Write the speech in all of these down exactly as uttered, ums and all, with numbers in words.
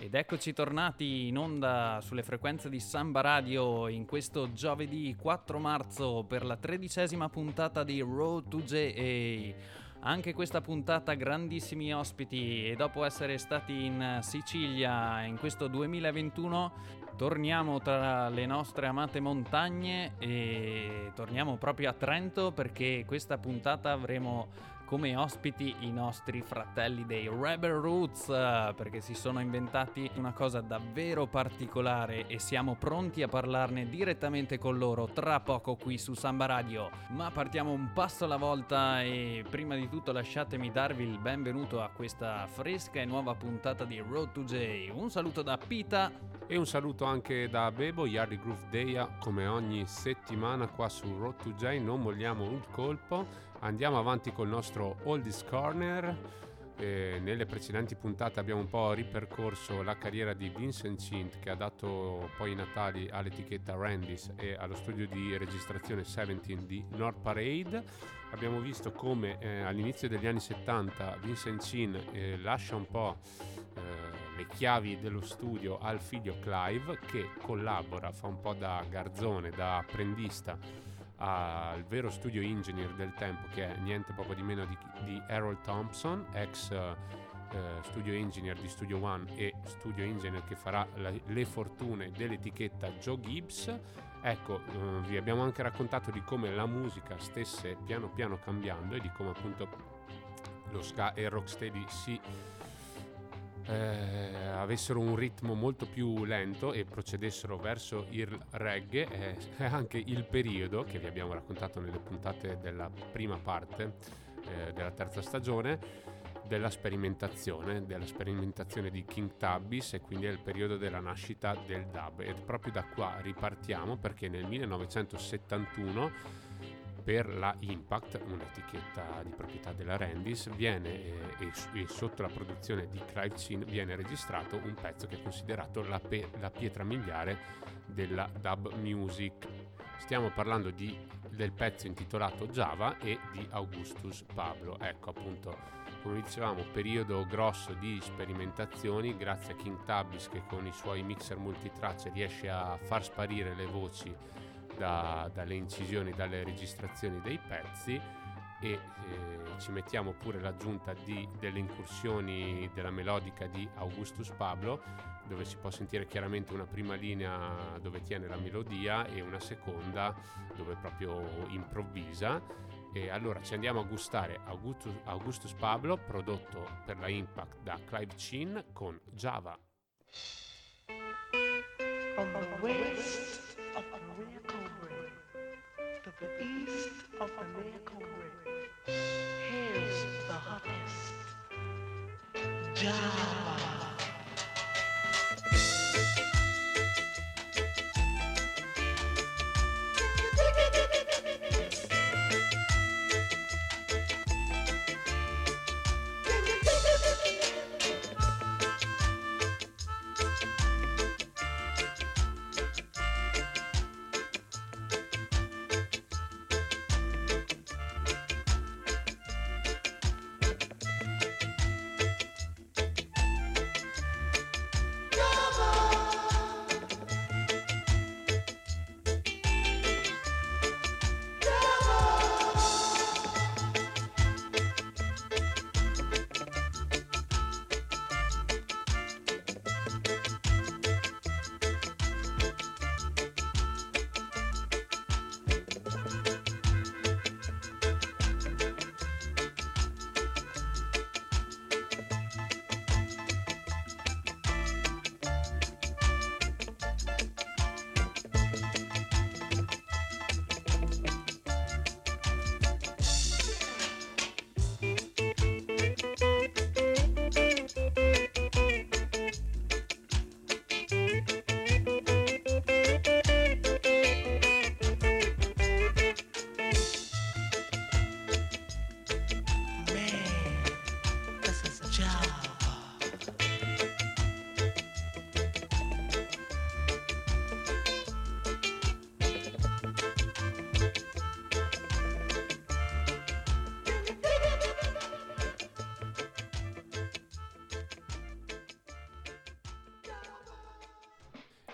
Ed eccoci tornati in onda sulle frequenze di Samba Radio in questo giovedì quattro marzo per la tredicesima puntata di Road to J A. Anche questa puntata grandissimi ospiti, e dopo essere stati in Sicilia in questo duemilaventuno torniamo tra le nostre amate montagne e torniamo proprio a Trento, perché questa puntata avremo come ospiti i nostri fratelli dei Rebel Roots, perché si sono inventati una cosa davvero particolare e siamo pronti a parlarne direttamente con loro tra poco qui su Samba Radio. Ma partiamo un passo alla volta e prima di tutto lasciatemi darvi il benvenuto a questa fresca e nuova puntata di Road to J. Un saluto da Pita e un saluto anche da Bebo. Yardi Groove Day come ogni settimana qua su Road to J, non molliamo un colpo. Andiamo avanti col nostro Oldies Corner. Eh, nelle precedenti puntate abbiamo un po' ripercorso la carriera di Vincent Cint, che ha dato poi i natali all'etichetta Randy's e allo studio di registrazione diciassette di North Parade. Abbiamo visto come eh, all'inizio degli anni settanta Vincent Cint eh, lascia un po' eh, le chiavi dello studio al figlio Clive, che collabora, fa un po' da garzone, da apprendista al vero studio engineer del tempo, che è niente poco di meno di, di Harold Thompson, ex uh, studio engineer di Studio One e studio engineer che farà la, le fortune dell'etichetta Joe Gibbs. Ecco, uh, vi abbiamo anche raccontato di come la musica stesse piano piano cambiando e di come appunto lo ska e il rocksteady si Eh, avessero un ritmo molto più lento e procedessero verso il reggae. È eh, anche il periodo che vi abbiamo raccontato nelle puntate della prima parte eh, della terza stagione della sperimentazione della sperimentazione di King Tubby's, e quindi è il periodo della nascita del dub, e proprio da qua ripartiamo, perché nel millenovecentosettantuno per la Impact, un'etichetta di proprietà della Randy's, viene eh, e, e sotto la produzione di Clive Chin viene registrato un pezzo che è considerato la, pe- la pietra miliare della dub music. Stiamo parlando di, del pezzo intitolato Java e di Augustus Pablo. Ecco, appunto, come dicevamo, periodo grosso di sperimentazioni grazie a King Tubby's, che con i suoi mixer multitracce riesce a far sparire le voci Da, dalle incisioni, dalle registrazioni dei pezzi, e eh, ci mettiamo pure l'aggiunta di, delle incursioni della melodica di Augustus Pablo, dove si può sentire chiaramente una prima linea dove tiene la melodia e una seconda dove proprio improvvisa. E allora ci andiamo a gustare Augustus, Augustus Pablo, prodotto per la Impact da Clive Chin, con Java. On the west of America Ray, to the east of America Ray, here's the hottest Java.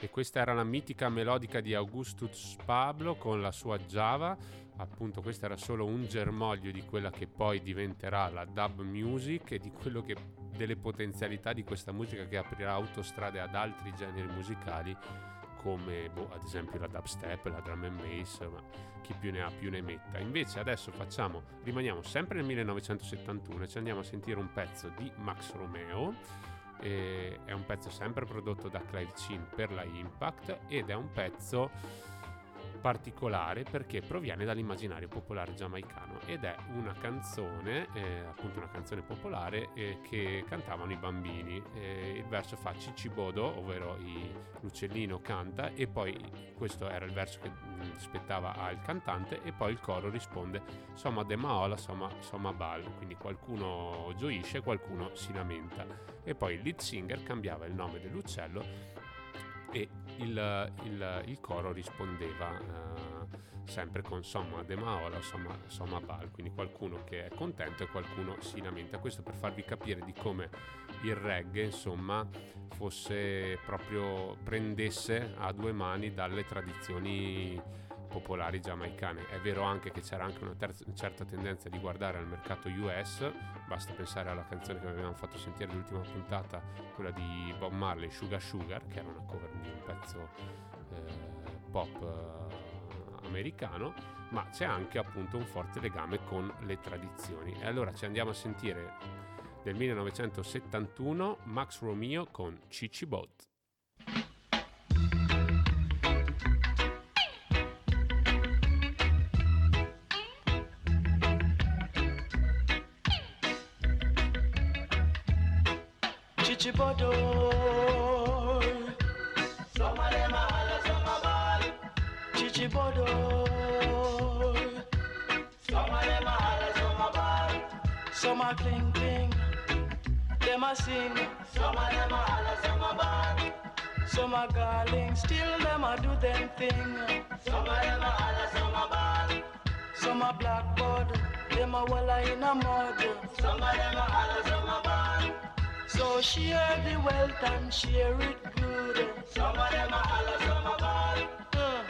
E questa era la mitica melodica di Augustus Pablo con la sua Java. Appunto, questo era solo un germoglio di quella che poi diventerà la dub music e di quello che, delle potenzialità di questa musica che aprirà autostrade ad altri generi musicali, come boh, ad esempio la dubstep, la drum and bass, ma chi più ne ha più ne metta. Invece adesso facciamo, rimaniamo sempre nel millenovecentosettantuno e ci andiamo a sentire un pezzo di Max Romeo. E è un pezzo sempre prodotto da Clive Chin per la Impact ed è un pezzo particolare perché proviene dall'immaginario popolare giamaicano ed è una canzone, eh, appunto una canzone popolare eh, che cantavano i bambini. Eh, il verso fa Cicibodo, ovvero i, l'uccellino canta, e poi questo era il verso che mh, spettava al cantante, e poi il coro risponde Soma de Maola, Soma, Soma Bal, quindi qualcuno gioisce, qualcuno si lamenta, e poi il lead singer cambiava il nome dell'uccello e il, il, il coro rispondeva uh, sempre con Somma de Maola, Somma, Somma Bal, quindi qualcuno che è contento e qualcuno si lamenta. Questo per farvi capire di come il reggae, insomma, fosse proprio, prendesse a due mani dalle tradizioni popolari giamaicane. È vero anche che c'era anche una, terza, una certa tendenza di guardare al mercato U S, basta pensare alla canzone che avevamo fatto sentire l'ultima puntata, quella di Bob Marley, Sugar Sugar, che era una cover di un pezzo eh, pop eh, americano, ma c'è anche appunto un forte legame con le tradizioni. E allora ci andiamo a sentire del millenovecentosettantuno Max Romeo con Cici Bot. Chichibodo, some of them are holla, some are ball. Chichibodo, some of them are holla, some are ball. Some are cling cling, them a sing. Some of them are holla, some are ball. Some are garling, still them a do them thing. Some of them are holla, some are ball. Some are blackboard, them a walla in a mud. Some of them are holla, some are ball. So share the wealth and share it good. Some of them are holla, some are ball. Uh.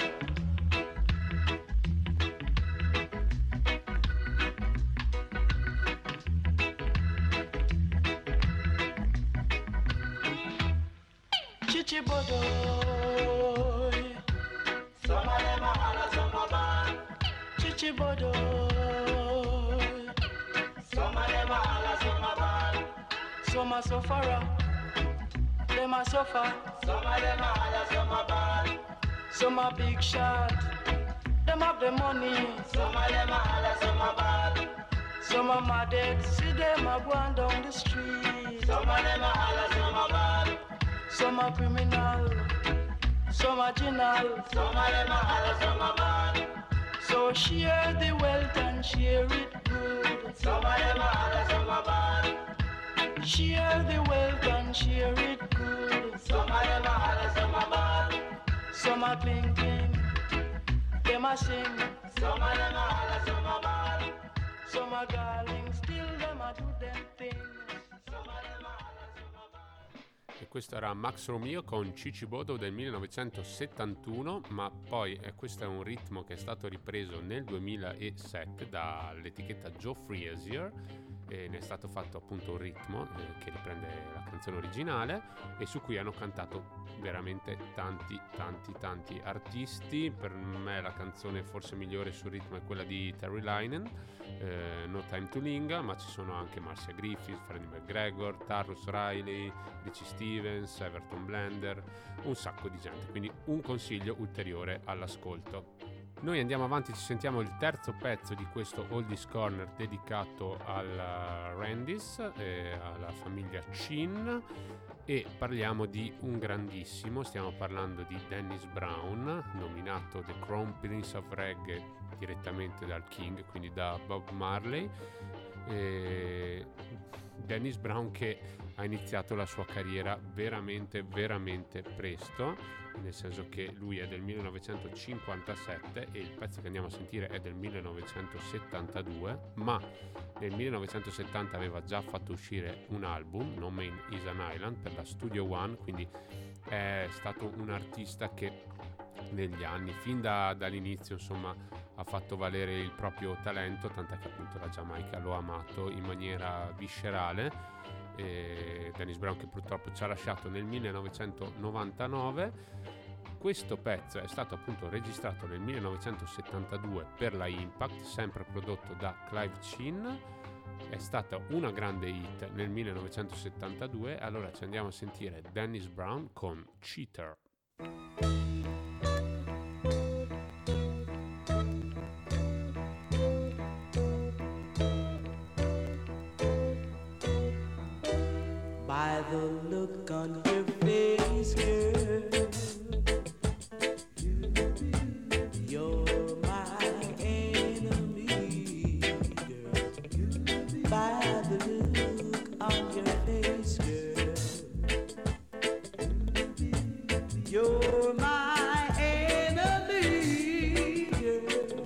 Chichibodo, some of them are holla, some are ball. Chichibodo, some of them are holla, some are ball. Some are sufferer, them are suffer. Some of them are holla, some are ball. Some are big shot, them have the money. Some of them are holla, some are ball. Some are mad, see them are going down the street. Some of them are holla, some are ball. Some are criminal, some are general. Some of them are holla, some are ball. So share the wealth and share it good. Some of them are holla, some are ball. Share the wealth and share it good. Some of them are holla, some are ball. Some are cling cling, them a sing. Some of them are holla, some are ball. Some are garling, still them a do them thing. Some of them are holla, some are ball. E questo era Max Romeo con Cicibodo del millenovecentosettantuno, ma poi eh, questo è un ritmo che è stato ripreso nel duemilasette dall'etichetta Joe Frazier, e ne è stato fatto appunto un ritmo eh, che riprende la canzone originale e su cui hanno cantato veramente tanti tanti tanti artisti. Per me la canzone forse migliore sul ritmo è quella di Terry Linen, eh, No Time to Linger, ma ci sono anche Marcia Griffith, Freddie McGregor, Tarrus Riley, Richie Stevens, Everton Blender, un sacco di gente, quindi un consiglio ulteriore all'ascolto. Noi andiamo avanti, ci sentiamo il terzo pezzo di questo Oldies Corner dedicato alla Randis, eh, alla famiglia Chin, e parliamo di un grandissimo, stiamo parlando di Dennis Brown, nominato The Crown Prince of Reggae direttamente dal King, quindi da Bob Marley. E Dennis Brown che ha iniziato la sua carriera veramente veramente presto, nel senso che lui è del millenovecentocinquantasette e il pezzo che andiamo a sentire è del millenovecentosettantadue, ma nel millenovecentosettanta aveva già fatto uscire un album, No Man is an Island, per la Studio One, quindi è stato un artista che negli anni, fin da, dall'inizio, insomma, ha fatto valere il proprio talento, tant'è che appunto la Giamaica lo ha amato in maniera viscerale. E Dennis Brown, che purtroppo ci ha lasciato nel millenovecentonovantanove. Questo pezzo è stato appunto registrato nel millenovecentosettantadue per la Impact, sempre prodotto da Clive Chin. È stata una grande hit nel millenovecentosettantadue. Allora ci andiamo a sentire Dennis Brown con Cheater. By the look on your face, girl, you're my enemy, girl. By the look on your face, girl, you're my enemy, girl.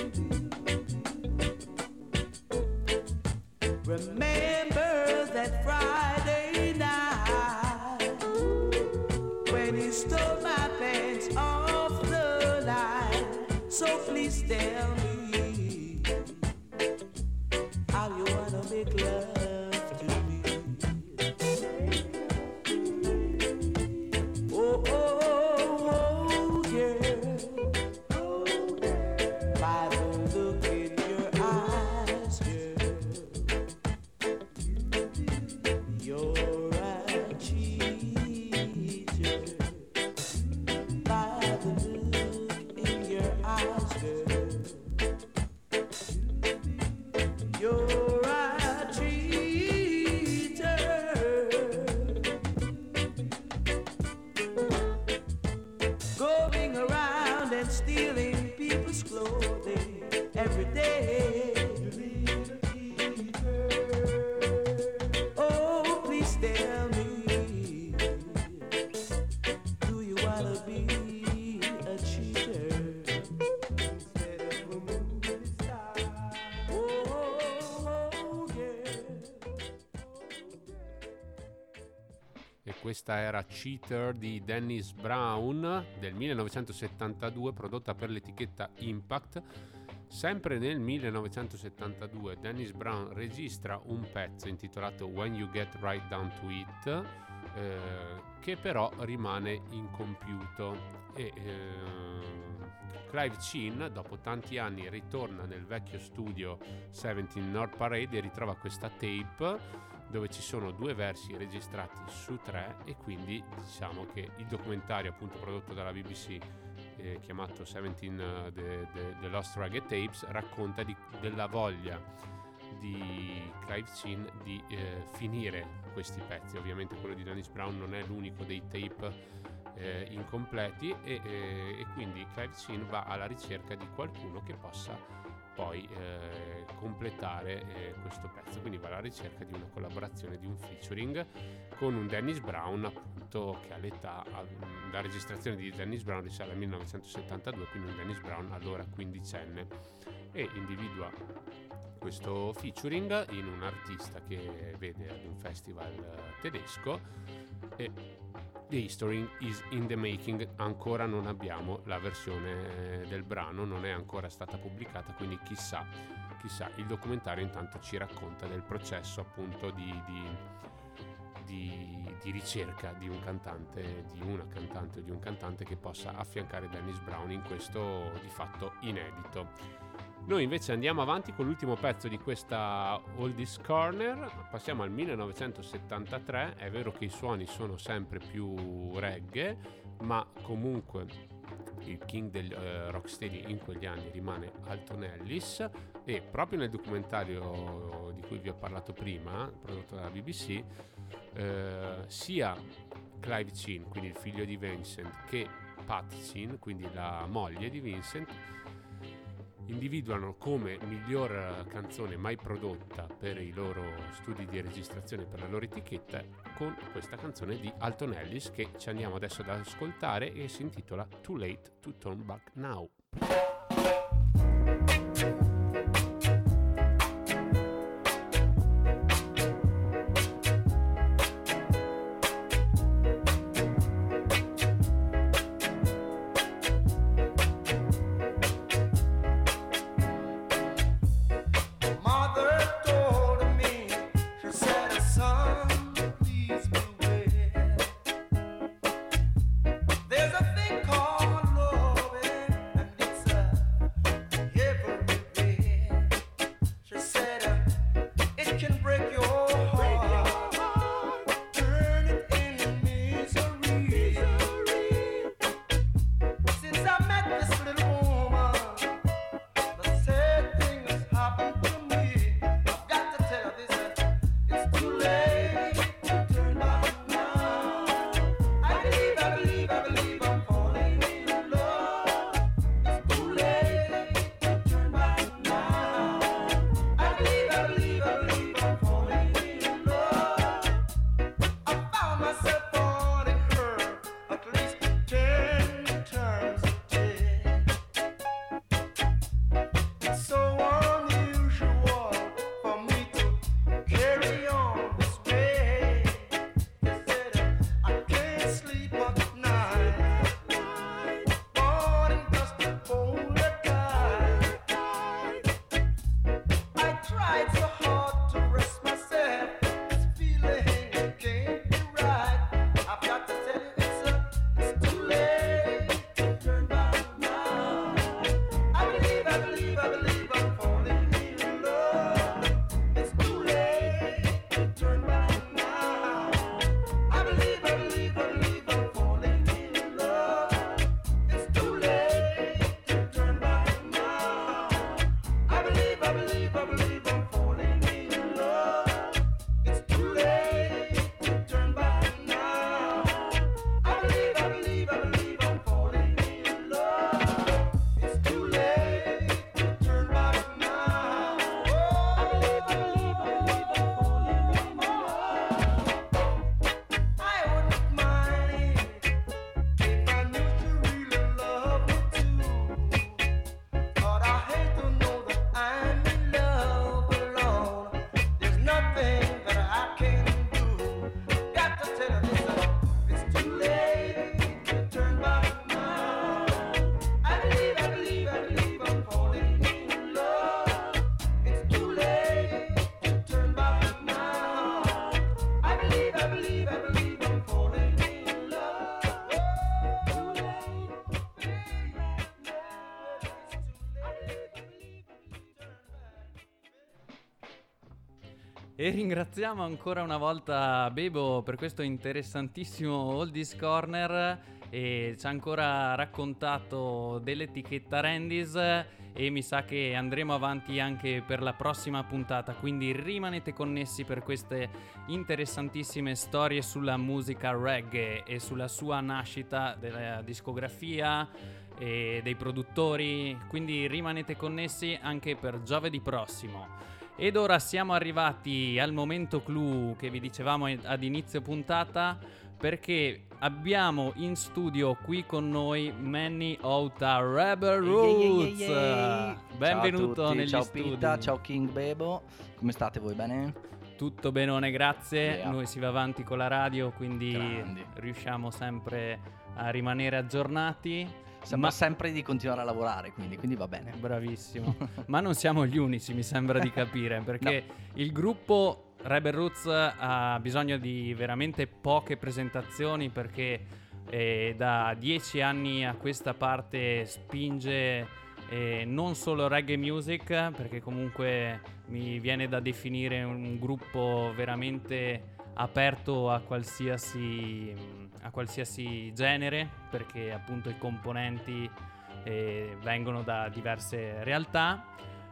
Remember that Friday night when you stole my pants off the line. So please tell me how you wanna make love to me. Oh, oh, oh, girl, by the look in your eyes, girl, you're a cheater. By the look in your eyes, girl, you're a cheater. Going around and stealing people's clothing every day. Oh, please tell me, do you wanna be a cheater instead of a movie star? Oh, oh, yeah. E questa era Cheater di Dennis Brown del millenovecentosettantadue, prodotta per l'etichetta Impact. Sempre nel millenovecentosettantadue Dennis Brown registra un pezzo intitolato When You Get Right Down to It, eh, che però rimane incompiuto e eh, Clive Chin dopo tanti anni ritorna nel vecchio studio diciassette North Parade e ritrova questa tape dove ci sono due versi registrati su tre, e quindi diciamo che il documentario appunto prodotto dalla B B C eh, chiamato diciassette uh, The, The, The Lost Reggae Tapes racconta di, della voglia di Clive Chin di eh, finire questi pezzi. Ovviamente quello di Dennis Brown non è l'unico dei tape eh, incompleti e, eh, e quindi Clive Chin va alla ricerca di qualcuno che possa poi eh, completare eh, questo pezzo, quindi va alla ricerca di una collaborazione, di un featuring con un Dennis Brown appunto che all'età, la registrazione di Dennis Brown risale al millenovecentosettantadue, quindi un Dennis Brown allora quindicenne, e individua questo featuring in un artista che vede ad un festival tedesco. E The History is in the Making, ancora non abbiamo la versione del brano, non è ancora stata pubblicata, quindi chissà, chissà. Il documentario intanto ci racconta del processo appunto di, di, di, di ricerca di un cantante, di una cantante o di un cantante che possa affiancare Dennis Brown in questo di fatto inedito. Noi invece andiamo avanti con l'ultimo pezzo di questa Oldies Corner, passiamo al millenovecentosettantatré. È vero che i suoni sono sempre più reggae, ma comunque il king del uh, rocksteady in quegli anni rimane Alton Ellis, e proprio nel documentario di cui vi ho parlato prima, prodotto dalla B B C, eh, sia Clive Chin, quindi il figlio di Vincent, che Pat Chin, quindi la moglie di Vincent, individuano come miglior canzone mai prodotta per i loro studi di registrazione, per la loro etichetta, con questa canzone di Alton Ellis che ci andiamo adesso ad ascoltare e si intitola Too Late to Turn Back Now. E ringraziamo ancora una volta Bebo per questo interessantissimo Oldies Corner, e ci ha ancora raccontato dell'etichetta Randy's e mi sa che andremo avanti anche per la prossima puntata, quindi rimanete connessi per queste interessantissime storie sulla musica reggae e sulla sua nascita, della discografia e dei produttori, quindi rimanete connessi anche per giovedì prossimo. Ed ora siamo arrivati al momento clou che vi dicevamo ad inizio puntata, perché abbiamo in studio qui con noi Manny Outa Rebel Roots. Ehi, ehi, ehi, ehi. Benvenuto Ciao a tutti, negli ciao studi. Pita, ciao King Bebo, come state voi, bene? Tutto benone, grazie. Yeah. Noi si va avanti con la radio, quindi Grandi. riusciamo sempre a rimanere aggiornati. Sembra Ma- sempre di continuare a lavorare, quindi, quindi va bene. Bravissimo. Ma non siamo gli unici, mi sembra di capire, perché il gruppo Rebel Roots ha bisogno di veramente poche presentazioni, perché eh, da dieci anni a questa parte spinge eh, non solo reggae music, perché comunque mi viene da definire un gruppo veramente aperto a qualsiasi, a qualsiasi genere, perché appunto i componenti eh, vengono da diverse realtà,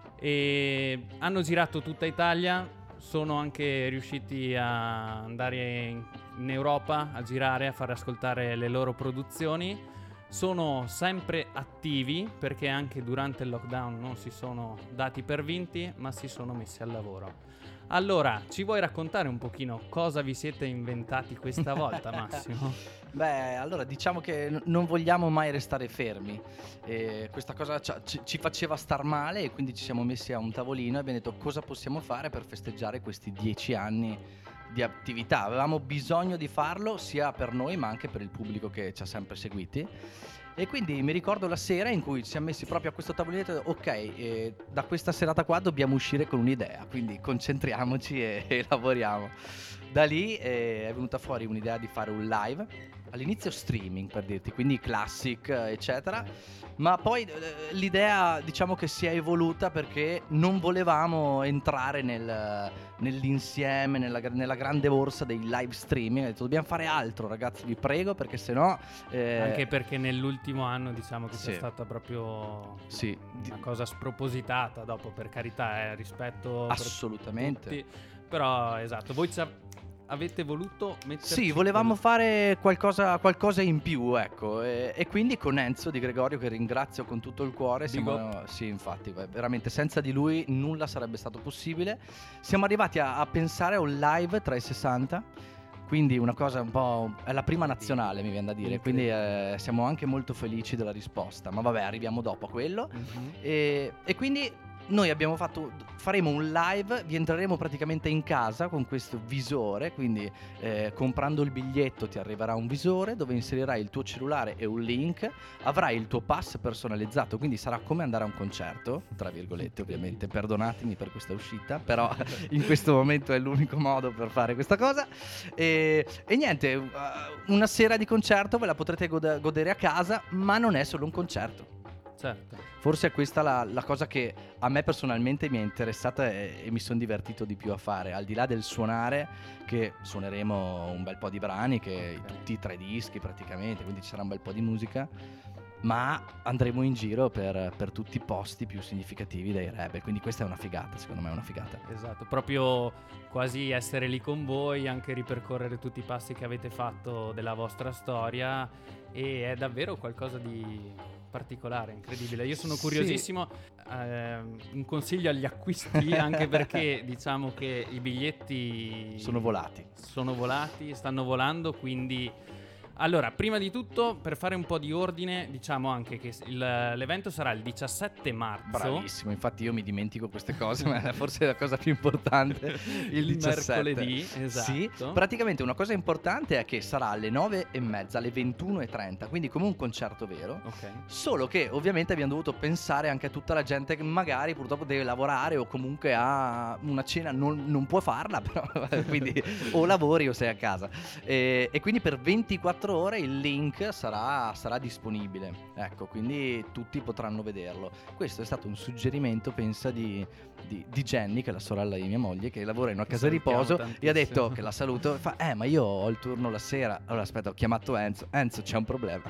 e hanno girato tutta Italia, sono anche riusciti a andare in, in Europa a girare, a far ascoltare le loro produzioni. sono sempre attivi perché anche durante il lockdown non si sono dati per vinti, ma si sono messi al lavoro. Allora, ci vuoi raccontare un pochino cosa vi siete inventati questa volta, Massimo? Beh, allora diciamo che n- non vogliamo mai restare fermi. E questa cosa ci, ci- ci faceva star male e quindi ci siamo messi a un tavolino e abbiamo detto cosa possiamo fare per festeggiare questi dieci anni di attività. Avevamo bisogno di farlo sia per noi ma anche per il pubblico che ci ha sempre seguiti. E quindi mi ricordo la sera in cui ci siamo messi proprio a questo tavolino e ho detto, ok, eh, da questa serata qua dobbiamo uscire con un'idea, quindi concentriamoci e, e lavoriamo. Da lì eh, è venuta fuori un'idea di fare un live, all'inizio streaming per dirti, quindi classic eccetera, ma poi eh, l'idea diciamo che si è evoluta perché non volevamo entrare nel, nell'insieme, nella, nella grande borsa dei live streaming. Ho detto dobbiamo fare altro ragazzi, vi prego, perché sennò eh, Anche perché nell'ultimo anno diciamo che Sì. c'è stata proprio sì, una cosa spropositata, dopo per carità eh, rispetto per assolutamente. tutti, però esatto, voi ci av- avete voluto metterci Sì, volevamo quel- fare qualcosa, qualcosa in più, ecco, e, e quindi con Enzo Di Gregorio, che ringrazio con tutto il cuore, Big siamo, sì, infatti, beh, veramente senza di lui nulla sarebbe stato possibile. Siamo arrivati a, a pensare a un live trecentosessanta, quindi una cosa un po', è la prima nazionale mi viene da dire, quindi eh, siamo anche molto felici della risposta, ma vabbè, arriviamo dopo a quello. Mhm. E, e quindi noi abbiamo fatto, faremo un live, vi entreremo praticamente in casa con questo visore, quindi eh, comprando il biglietto ti arriverà un visore dove inserirai il tuo cellulare e un link, avrai il tuo pass personalizzato, quindi sarà come andare a un concerto, tra virgolette ovviamente, perdonatemi per questa uscita, però in questo momento è l'unico modo per fare questa cosa. E, e niente, uh, una sera di concerto ve la potrete gode- godere a casa, ma non è solo un concerto. Certo. Forse è questa la, la cosa che a me personalmente mi è interessata e, e mi sono divertito di più a fare, al di là del suonare, che suoneremo un bel po' di brani, che Ok. tutti i tre dischi praticamente, quindi ci sarà un bel po' di musica, ma andremo in giro per, per tutti i posti più significativi dei rap, e quindi questa è una figata, secondo me è una figata. Esatto, proprio quasi essere lì con voi, anche ripercorrere tutti i passi che avete fatto della vostra storia, e è davvero qualcosa di particolare, incredibile. Io sono Sì. curiosissimo, ehm, un consiglio agli acquisti, anche perché diciamo che i biglietti Sono volati. sono volati, stanno volando, quindi allora, prima di tutto, per fare un po' di ordine, diciamo anche che il- l'evento sarà il diciassette marzo. Bravissimo, infatti io mi dimentico queste cose, ma forse è la cosa più importante. Il, Il diciassette. mercoledì, esatto. Sì, praticamente una cosa importante è che sarà alle nove e mezza, alle ventuno e trenta, quindi come un concerto vero. Ok. Solo che ovviamente abbiamo dovuto pensare anche a tutta la gente che magari purtroppo deve lavorare o comunque ha una cena, non, non può farla, però quindi o lavori o sei a casa. E, e quindi per ventiquattro ore il link sarà, sarà disponibile. Ecco, quindi tutti potranno vederlo. Questo è stato un suggerimento, pensa, di, di, di Jenny, che è la sorella di mia moglie, che lavora in una casa di Salutiamo riposo, e ha detto, tantissimo. che la saluto, fa, eh ma io ho il turno la sera. Allora aspetta, ho chiamato Enzo. Enzo, c'è un problema.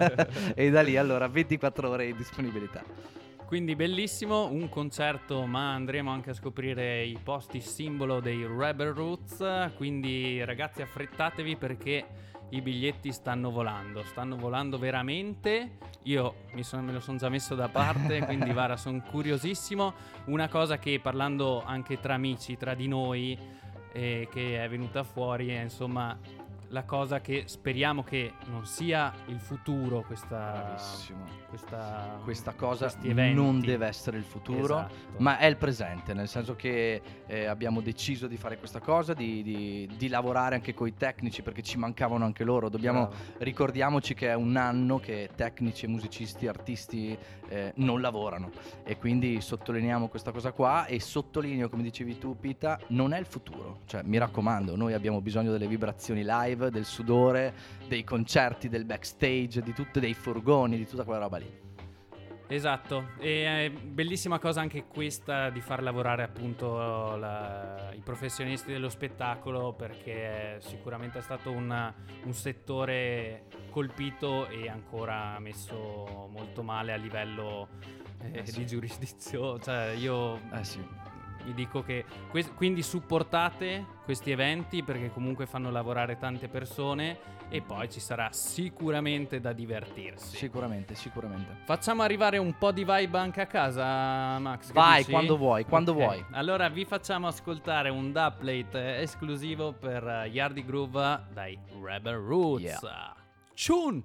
E da lì allora ventiquattro ore di disponibilità. Quindi bellissimo, un concerto, ma andremo anche a scoprire i posti simbolo dei Rebel Roots, quindi ragazzi affrettatevi perché i biglietti stanno volando, stanno volando veramente. Io mi son- me lo sono già messo da parte, quindi Vara, sono curiosissimo. Una cosa che, parlando anche tra amici, tra di noi, eh, che è venuta fuori è insomma la cosa che speriamo che non sia il futuro, questa, Bravissimo. questa, Questa cosa questi eventi. non deve essere il futuro, Esatto. ma è il presente, nel senso che eh, abbiamo deciso di fare questa cosa, di, di- di lavorare anche coi tecnici, perché ci mancavano anche loro. Dobbiamo, Bravo. ricordiamoci che è un anno che tecnici, musicisti, artisti eh, non lavorano, e quindi sottolineiamo questa cosa qua, e sottolineo, come dicevi tu Pita, non è il futuro, cioè mi raccomando, noi abbiamo bisogno delle vibrazioni live, del sudore, dei concerti, del backstage, di tutte, dei furgoni, di tutta quella roba lì. Esatto, e è bellissima cosa anche questa di far lavorare appunto la- i professionisti dello spettacolo, perché sicuramente è stato un, un settore colpito e ancora messo molto male a livello eh, Eh sì. di giurisdizione. Cioè io Eh sì. vi dico che que- quindi supportate questi eventi perché comunque fanno lavorare tante persone e poi ci sarà sicuramente da divertirsi. Sicuramente, sicuramente. Facciamo arrivare un po' di vibe anche a casa, Max. Che Vai, dici? quando vuoi, quando Ok. vuoi. Allora vi facciamo ascoltare un dubplate esclusivo per uh, Yardi Groove dai Rebel Roots. Yeah. Chun!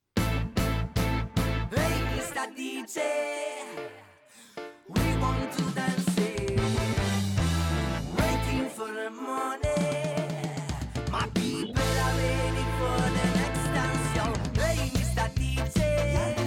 Hey, mister D J, we want to dance it. Waiting for the morning. My people are ready for the next dance, yo. Hey, mister D J,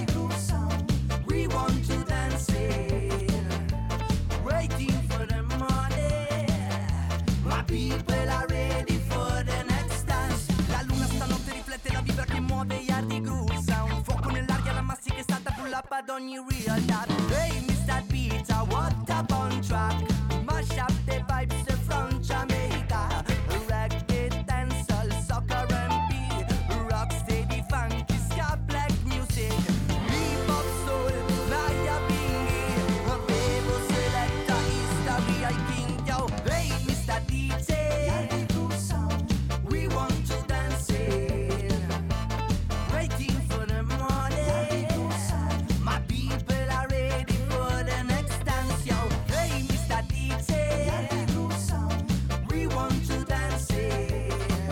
we want to dance it. Waiting for the morning. My people are ready for the next dance. La luna stanotte riflette la vibra che muove Yardi Groove Sound. Fuoco nell'aria, la massi che salta pull up ad ogni real dance. Hey, mister Pizza, what up on track? Mash up the vibes from Jamaica. Reggae, dancehall, soccer and beat. Rock steady, funky, ska, black music. Hip-hop, soul, Naya Bingy. Avevo selecta, history, I king, yo. Hey, mister D J, we want to dance it. Waiting for the morning. My people are ready for the next dance, yo. Hey, mister D J, we want to dance it.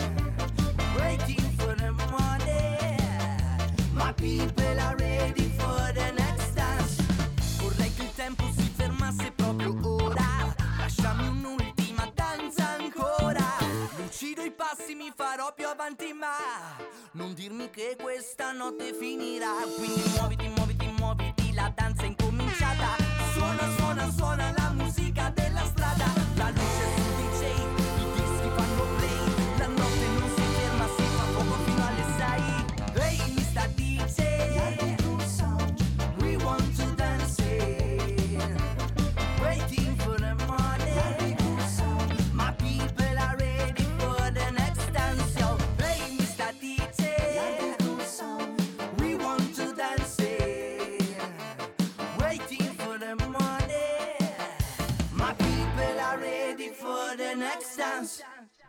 Waiting for the morning. My people are ready for the next dance. Vorrei che il tempo si fermasse proprio ora. Lasciami un'ultima danza ancora. Lucido i passi, mi farò più avanti, ma non dirmi che questa notte finirà. Quindi muoviti, muoviti, muoviti, la danza è incominciata. Suona, suona, suona la musica della strada. La luce sul D J, i dischi fanno play. La notte non si ferma, si fa fuoco fino alle sei. Hey, mister D J, we want to dance it. Waiting for the morning. My people are ready for the next dance, yo. Hey, mister D J, we want to dance it. Waiting for the morning. My people are ready for the next dance.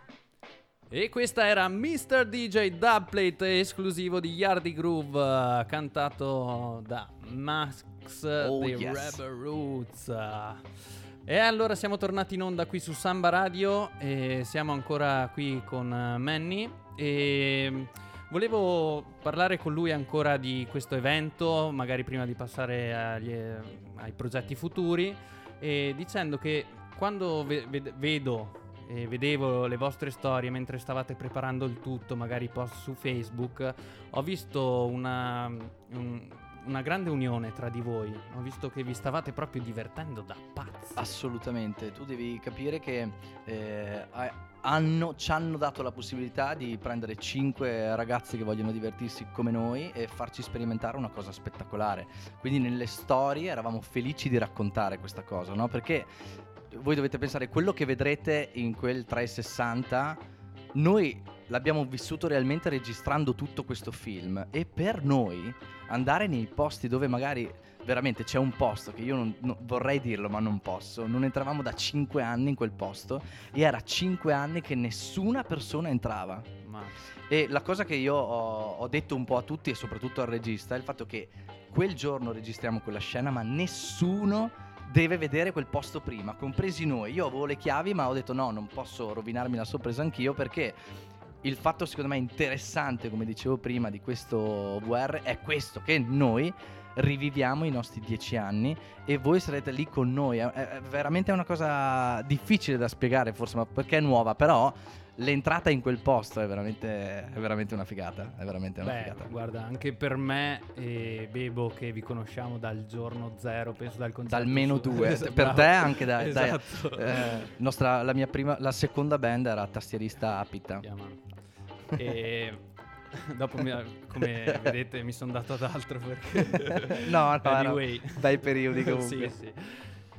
E questa era mister D J Dubplate esclusivo di Yardi Groove, eh, cantato da Max Oh, dei yes. Rebel Roots. E allora siamo tornati in onda qui su Samba Radio e siamo ancora qui con eh, Manny e volevo parlare con lui ancora di questo evento, magari prima di passare agli, eh, ai progetti futuri, e dicendo che quando ve- ved- vedo e vedevo le vostre storie mentre stavate preparando il tutto, magari post su Facebook, ho visto una, un- una grande unione tra di voi. Ho visto che vi stavate proprio divertendo da pazzi. Assolutamente, tu devi capire che eh, ha- hanno, ci hanno dato la possibilità di prendere cinque ragazzi che vogliono divertirsi come noi e farci sperimentare una cosa spettacolare. Quindi nelle storie eravamo felici di raccontare questa cosa, no? Perché voi dovete pensare, quello che vedrete in quel trecentosessanta, noi l'abbiamo vissuto realmente registrando tutto questo film, e per noi andare nei posti dove magari veramente c'è un posto che io non, non- vorrei dirlo ma non posso, non entravamo da cinque anni in quel posto e era cinque anni che nessuna persona entrava. Ma E la cosa che io ho, ho detto un po' a tutti e soprattutto al regista è il fatto che quel giorno registriamo quella scena ma nessuno deve vedere quel posto prima, compresi noi. Io avevo le chiavi ma ho detto no, non posso rovinarmi la sorpresa anch'io, perché il fatto secondo me interessante, come dicevo prima, di questo V R è questo, che noi riviviamo i nostri dieci anni e voi sarete lì con noi. È, è veramente una cosa difficile da spiegare forse, ma perché è nuova, però l'entrata in quel posto è veramente, è veramente una figata. È veramente una beh, figata. guarda, anche per me e Bebo, che vi conosciamo dal giorno zero, penso dal concerto Dal meno su- due. Esatto, Per bravo. te anche dai, dai, Esatto. eh, nostra, la mia prima, la seconda band era tastierista Apita. Chiama. E dopo mi- come vedete mi sono dato ad altro perché No, no, erano anyway. bei periodi comunque. Sì, sì.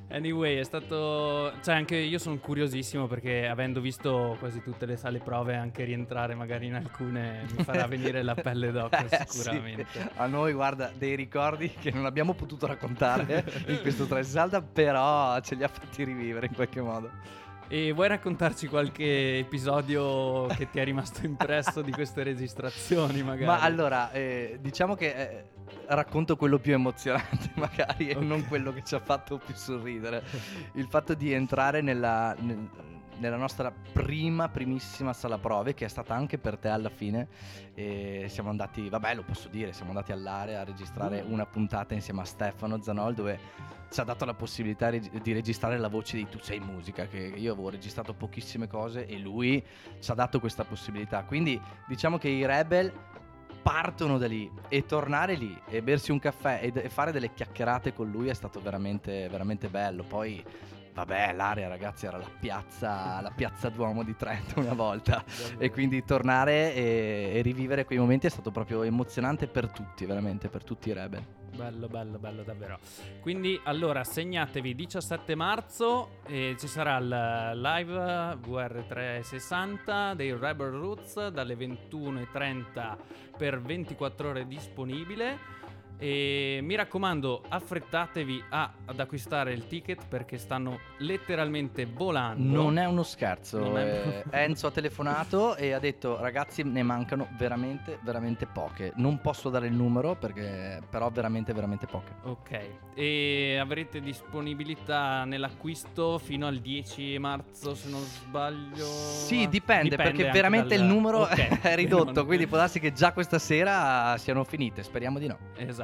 Anyway, è stato... Cioè, anche io sono curiosissimo perché avendo visto quasi tutte le sale prove, anche rientrare magari in alcune mi farà venire la pelle d'oca Eh, sicuramente. sì. A noi, guarda, dei ricordi che non abbiamo potuto raccontare in questo trecentosessanta, però ce li ha fatti rivivere in qualche modo. E vuoi raccontarci qualche episodio che ti è rimasto impresso di queste registrazioni magari? Ma allora, eh, diciamo che eh, racconto quello più emozionante magari, Ok. e non quello che ci ha fatto più sorridere. Il fatto di entrare nella, nel- nella nostra prima, primissima sala prove, che è stata anche per te alla fine. E siamo andati, vabbè, lo posso dire, siamo andati all'area a registrare Mm. una puntata insieme a Stefano Zanol, dove ci ha dato la possibilità reg- di registrare la voce di Tu sei musica, che io avevo registrato pochissime cose e lui ci ha dato questa possibilità. Quindi diciamo che i Rebel partono da lì, e tornare lì e bersi un caffè e, e fare delle chiacchierate con lui è stato veramente veramente bello. Poi vabbè, l'area, ragazzi, era la piazza la piazza Duomo di Trento una volta, e quindi tornare e, e rivivere quei momenti è stato proprio emozionante per tutti, veramente per tutti i Rebel. Bello, bello, bello davvero. Quindi allora segnatevi diciassette marzo e ci sarà il live V R trecentosessanta dei Rebel Roots dalle ventuno e trenta per ventiquattro ore disponibile. E mi raccomando, affrettatevi a- ad acquistare il ticket perché stanno letteralmente volando. Non è uno scherzo. Non è- eh, Enzo ha telefonato e ha detto: ragazzi, ne mancano veramente veramente poche. Non posso dare il numero perché, però veramente veramente poche. Ok, e avrete disponibilità nell'acquisto fino al dieci marzo se non sbaglio? Sì, dipende, perché anche veramente dal- il numero Ok, è ridotto, non- quindi può darsi che già questa sera siano finite, speriamo di no. Esatto.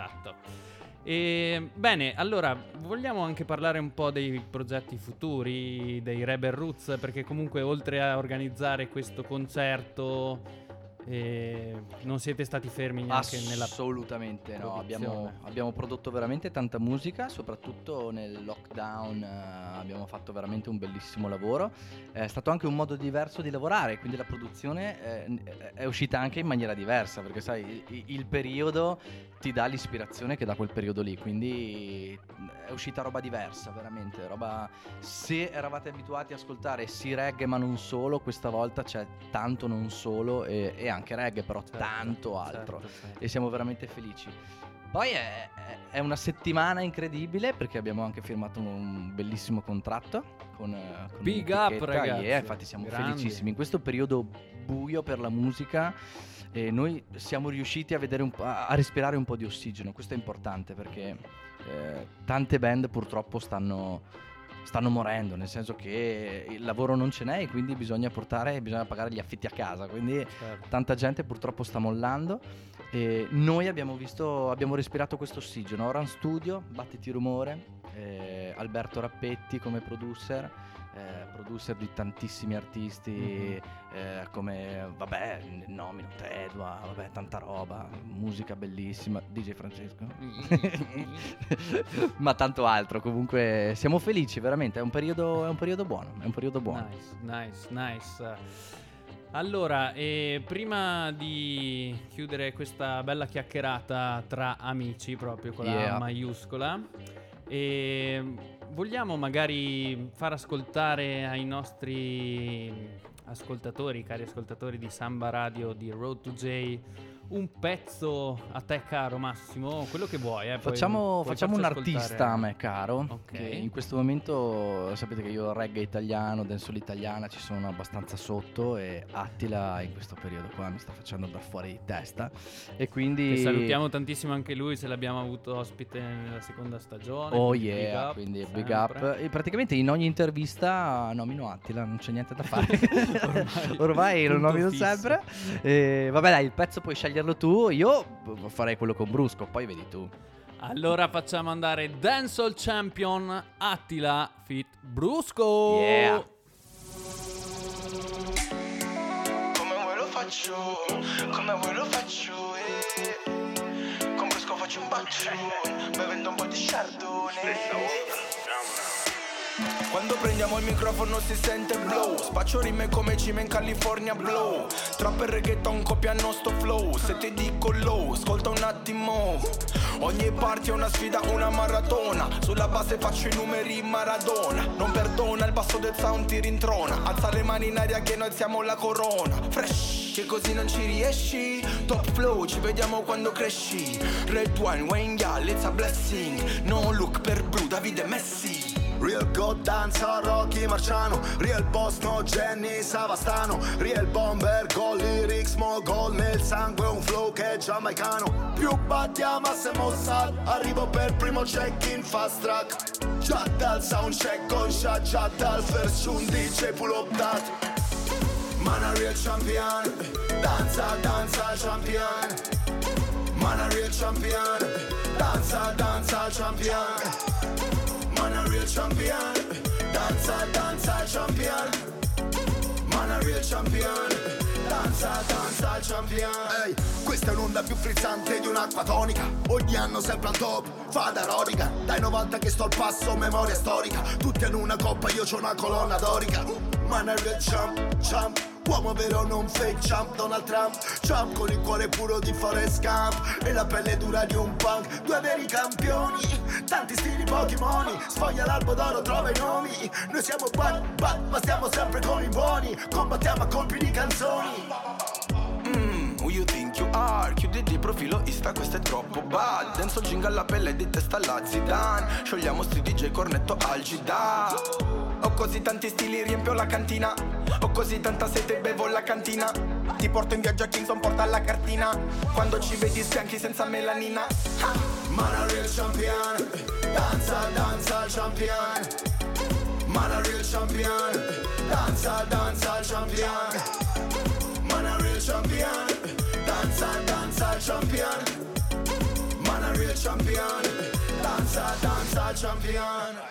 E, bene, allora vogliamo anche parlare un po' dei progetti futuri dei Rebel Roots, perché comunque oltre a organizzare questo concerto eh, non siete stati fermi neanche nella Assolutamente no, abbiamo, produzione. abbiamo prodotto veramente tanta musica, soprattutto nel lockdown eh, abbiamo fatto veramente un bellissimo lavoro. È stato anche un modo diverso di lavorare, quindi la produzione eh, n- è uscita anche in maniera diversa, perché sai, il, il periodo ti dà l'ispirazione che dà quel periodo lì, quindi è uscita roba diversa, veramente, roba... Se eravate abituati a ascoltare sì reggae ma non solo, questa volta c'è tanto non solo e, e anche reggae, però Certo, tanto altro, certo, certo. e siamo veramente felici. Poi è, è- è una settimana incredibile perché abbiamo anche firmato un bellissimo contratto con, eh, con Big up, un'etichetta, ragazzi. yeah, infatti siamo Grandi. felicissimi in questo periodo buio per la musica. E noi siamo riusciti a vedere un po', a a respirare un po' di ossigeno. Questo è importante perché eh, tante band purtroppo stanno, stanno morendo, nel senso che il lavoro non ce n'è e quindi bisogna portare, bisogna pagare gli affitti a casa, quindi Certo. tanta gente purtroppo sta mollando. E noi abbiamo visto, abbiamo respirato questo ossigeno. Oran Studio, Battiti Rumore, eh, Alberto Rappetti come producer, eh, producer di tantissimi artisti, Mhm. eh, come, vabbè, nomino Tedua, vabbè, tanta roba, musica bellissima, D J Francesco, ma tanto altro. Comunque siamo felici, veramente, è un periodo, è un periodo buono, è un periodo buono. Nice, nice, nice. Allora, eh, prima di chiudere questa bella chiacchierata tra amici, proprio con la Yeah. maiuscola, eh, vogliamo magari far ascoltare ai nostri ascoltatori, cari ascoltatori di Samba Radio, di Road to J, un pezzo a te caro Massimo, quello che vuoi. Eh, puoi- Facciamo, puoi facciamo un farci artista ascoltare- a me caro, Ok. che in questo momento sapete che io reggae italiano, dancehall italiana ci sono abbastanza sotto, e Attila in questo periodo qua mi sta facendo andare fuori di testa, e quindi Che salutiamo tantissimo anche lui, se l'abbiamo avuto ospite nella seconda stagione. Oh quindi yeah, big up, quindi big sempre. up. E praticamente in ogni intervista nomino Attila, non c'è niente da fare. Ormai, Ormai lo punto nomino fisso. sempre. E vabbè dai, il pezzo puoi sceglierlo tu, io farei quello con Brusco, poi vedi tu. Allora facciamo andare Dancehall Champion Attila Fit Brusco. Yeah. Come vuoi lo faccio, come vuoi lo faccio, eh. Con Brusco faccio un bacio, bevendo un po' di chardonnay. Quando prendiamo il microfono si sente blow. Spaccio rime come cime in California blow. Trap e reggaeton copiano sto flow. Se ti dico low, ascolta un attimo. Ogni party è una sfida, una maratona. Sulla base faccio i numeri Maradona. Non perdona, il basso del sound ti rintrona. Alza le mani in aria che noi siamo la corona. Fresh, che così non ci riesci. Top flow, ci vediamo quando cresci. Red wine, Wayne Gal, it's a blessing. No look per Blue, Davide Messi. Real God danza, Rocky Marciano. Real boss, no Jenny Savastano. Real bomber, gol, lyrics, mo gol nel sangue, un flow che è giamaicano. Più battiamo a Semossad, arrivo per primo check in fast track. Già dal sound check con shot, già dal first un D J pull up that. Man a real champion, danza, danza champion. Man a real champion, danza, danza champion. Man a real champion, danza, danza champion. Man a real champion, danza, danza champion. Ehi, questa è un'onda più frizzante di un'acqua tonica. Ogni anno sempre al top, fa da rodica. Dai novanta che sto al passo, memoria storica. Tutti hanno una coppa, io c'ho una colonna dorica. Man a real champ, champ. Uomo vero non fake champ, Donald Trump. Champ con il cuore puro di Forrest Gump e la pelle dura di un punk. Due veri campioni, tanti stili, pochi moni. Sfoglia l'albo d'oro, trova i nomi. Noi siamo bad, bad, ma stiamo sempre con i buoni. Combattiamo a colpi di canzoni. Mmm, who you think you are? Chiudi di profilo Insta, questo è troppo bad. Denso jingle alla pelle di testa alla Zidane. Sciogliamo sti D J cornetto al Gida. Ho così tanti stili, riempio la cantina. Ho così tanta sete, bevo la cantina. Ti porto in viaggio a Kingston, porta la cartina. Quando ci vedi sbianchi senza melanina. Man a real champion, danza, danza champion. Man a real champion, danza, danza champion. Man a real champion, danza, danza champion. Man a real champion, danza, danza champion.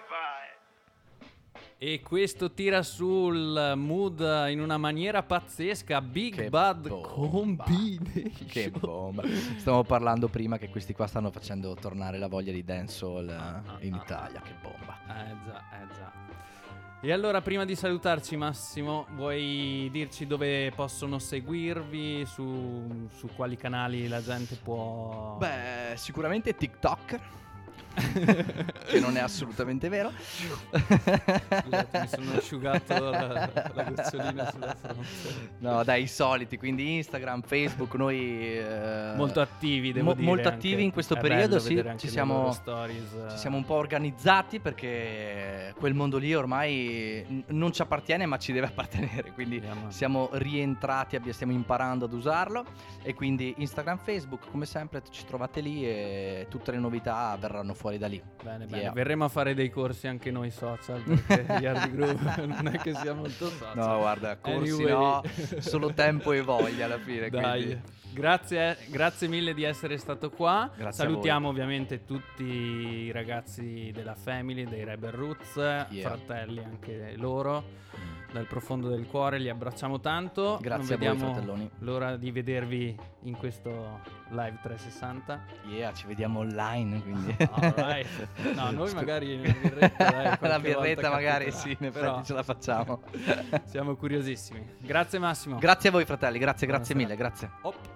E questo tira sul mood in una maniera pazzesca. Big Che Bad bomba. Combination. Che bomba. Stavamo parlando prima che questi qua stanno facendo tornare la voglia di dancehall eh, in Italia. Che bomba. Eh già, eh già. E allora, prima di salutarci, Massimo, vuoi dirci dove possono seguirvi, su, su quali canali la gente può... Beh, sicuramente TikTok. Che non è assolutamente vero. Scusate, mi sono asciugato la, la gocciolina sulla fronte. No, dai, i soliti, quindi Instagram, Facebook, noi eh, Molto attivi, devo mo- dire. molto anche. attivi in questo È periodo, bello sì, vedere anche ci le siamo- loro stories. ci siamo un po' organizzati perché quel mondo lì ormai n- non ci appartiene, ma ci deve appartenere, quindi Andiamo. siamo rientrati, abbi- stiamo imparando ad usarlo, e quindi Instagram, Facebook, come sempre ci trovate lì e tutte le novità verranno fuori da lì. Bene, bene. Yeah. Verremo a fare dei corsi anche noi social, perché gli Hardy Groove non è che sia molto social. No, guarda, corsi Anyway. no, solo tempo e voglia alla fine. Dai, quindi. grazie, grazie mille di essere stato qua. Grazie a Salutiamo ovviamente tutti i ragazzi della Family, dei Rebel Roots, fratelli anche loro. Dal profondo del cuore li abbracciamo tanto. Grazie non a voi, vediamo fratelloni. l'ora di vedervi in questo live trecentosessanta. Yeah, ci vediamo online, quindi. Alright. No, noi magari una birretta, dai, qualche La volta birretta magari capiterà. sì, in effetti Però ce la facciamo. siamo curiosissimi. Grazie Massimo. Grazie a voi, fratelli, grazie, grazie Buonasera. mille, grazie. Op.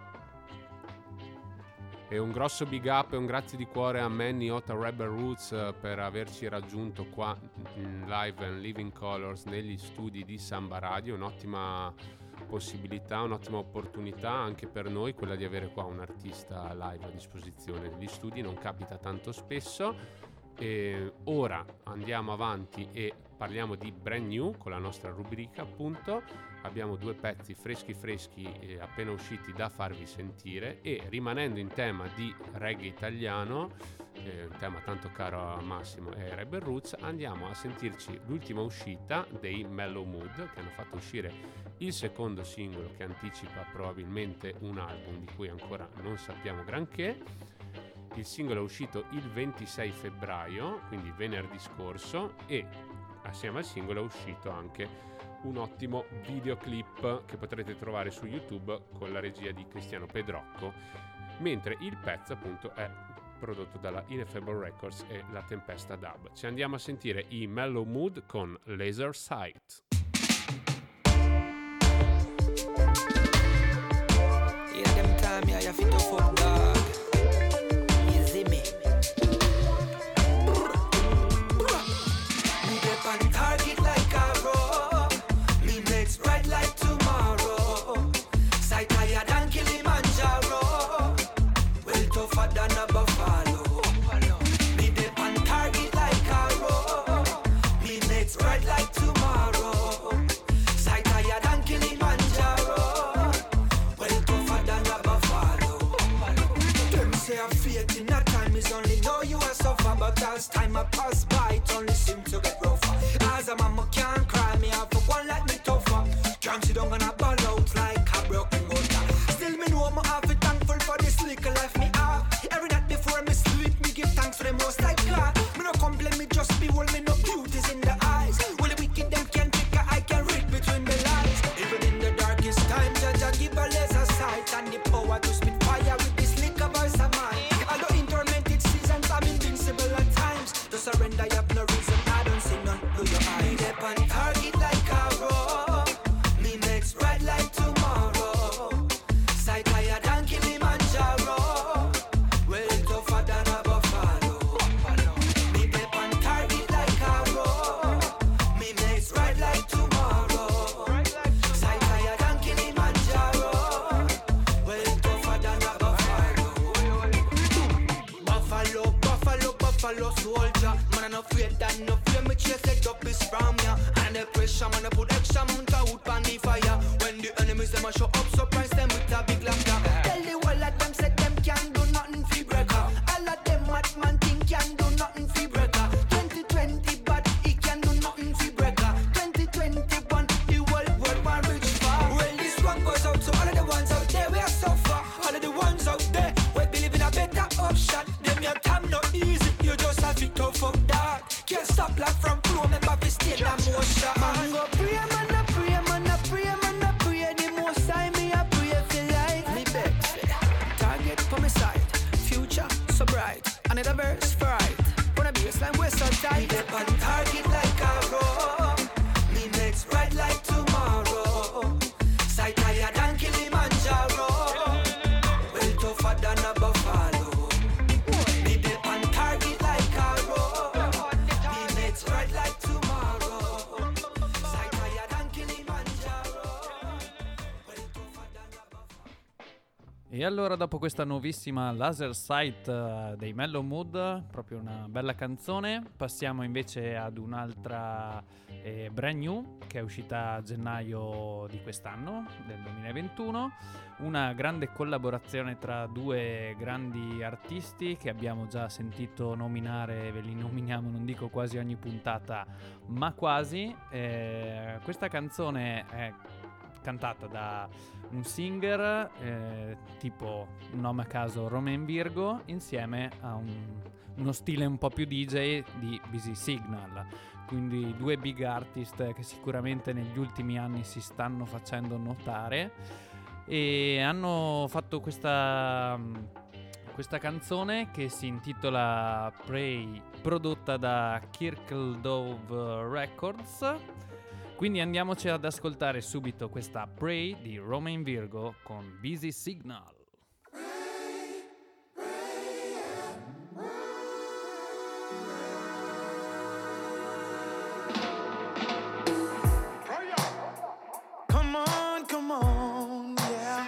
E un grosso big up e un grazie di cuore a Manny Ota Rebel Roots eh, per averci raggiunto qua in live and living colors negli studi di Samba Radio. Un'ottima possibilità, un'ottima opportunità anche per noi quella di avere qua un artista live a disposizione negli studi, non capita tanto spesso. E ora andiamo avanti e parliamo di brand new con la nostra rubrica, appunto. Abbiamo due pezzi freschi freschi eh, appena usciti da farvi sentire, e rimanendo in tema di reggae italiano, eh, un tema tanto caro a Massimo e Rebel Roots, andiamo a sentirci l'ultima uscita dei Mellow Mood, che hanno fatto uscire il secondo singolo che anticipa probabilmente un album di cui ancora non sappiamo granché. Il singolo è uscito il ventisei febbraio, quindi venerdì scorso, e assieme al singolo è uscito anche un ottimo videoclip che potrete trovare su YouTube con la regia di Cristiano Pedrocco, mentre il pezzo appunto è prodotto dalla Ineffable Records e La Tempesta Dub. Ci andiamo a sentire i Mellow Mood con Laser Sight. Yeah, them time yeah, you fit to fuck dog. You see me? Me dip on target like arrow. Me makes bright like tomorrow. Sight higher than Kilimanjaro. Well tougher than a buffalo. Me dip on target like arrow. Me makes bright like tomorrow. Sight higher than Kilimanjaro. Say I'm faith in that time is only know you are suffer, but as time I pass by, it only seem to get rougher. As a mama can't cry, me have for one like me tougher. Can't sit down and I ball out like a broken motor. Still me know I'm have it thankful for this little life me have. Every night before me sleep, me give thanks for the most I got. Me no complain, me just be well, me no beauties in the eyes. Well the wicked them can pick, I can read between the lines. Even in the darkest time, Judge I give a laser sight and the power to spit fire with this liquor voice of mine. I don't in tormented seasons, I'm invincible at times. To surrender, you have no reason, I don't see none through your eyes. Me dip on target like arrow. Me makes bright like tomorrow. Sight higher than Kilimanjaro. Well tougher than a buffalo. Me dip on target like arrow. Me makes bright like tomorrow. Sight higher than Kilimanjaro. Well tougher than a buffalo. Buffalo, buffalo, buffalo soldier. Man, I'm not afraid that no fear me chase it up is from ya. And the pressure, man, I put extra amount of wood on the fire. When the enemies them a show up, surprise them with a big laughter. Tell the whole of them say them can do nothing fi breaker. All of them madman think can do nothing fi breaker. twenty twenty bad, he can do nothing fi breaker. twenty twenty-one, the world world man reach far. Well, this one goes out to all of the ones out there we are suffer. All of the ones out there we believe in a better option. Them your time not easy, you just have it tough up dark. Can't stop like from flow, remember we stay la motion. Man go pray, man a pray, man a pray, man a pray. The most time me a pray for life. Me beg, target for my side. Future so bright, another verse for right. Wanna be a slime, we're so tight. Me dip on target like arrow. Me makes bright like tomorrow. Sight higher than Kilimanjaro. Well tougher than a buffalo. Me dip on target like arrow. Me makes bright like tomorrow. Sight higher than Kilimanjaro. Well tougher than a buffalo. E allora dopo questa nuovissima Laser Sight uh, dei Mellow Mood, proprio una bella canzone, passiamo invece ad un'altra eh, brand new che è uscita a gennaio di quest'anno, del duemilaventuno, una grande collaborazione tra due grandi artisti che abbiamo già sentito nominare, ve li nominiamo non dico quasi ogni puntata, ma quasi. Eh, questa canzone è cantata da un singer eh, tipo un nome a caso Romain Virgo insieme a un, uno stile un po' più D J di Busy Signal, quindi due big artist che sicuramente negli ultimi anni si stanno facendo notare e hanno fatto questa questa canzone che si intitola Pray, prodotta da Kirkledove Records. Quindi andiamoci ad ascoltare subito questa Pray di Romain Virgo con Busy Signal. Come on, come on, yeah.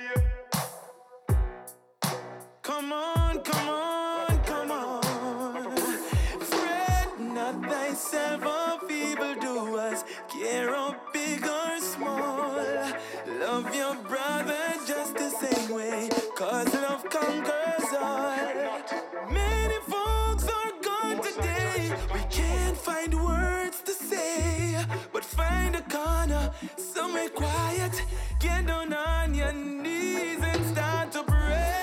Come on, come on, come on. Fret not thyself of evildoers. Care of big or small. Love your brother just the same way, cause love conquers all. Many folks are gone today. We can't find words to say, but find a corner, somewhere quiet. Get down on your knees and start to pray.